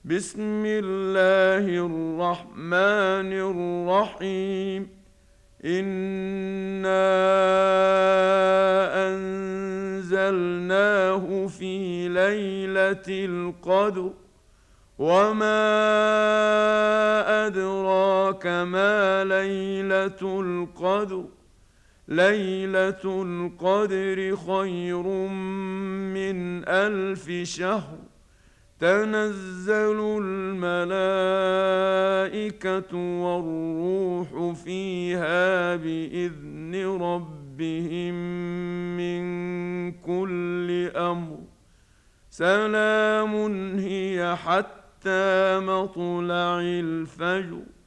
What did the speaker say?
بسم الله الرحمن الرحيم. إنا أنزلناه في ليلة القدر، وما أدراك ما ليلة القدر. ليلة القدر خير من 1000 شهر. تنزل الملائكة والروح فيها بإذن ربهم من كل أمر. سلام هي حتى مطلع الفجر.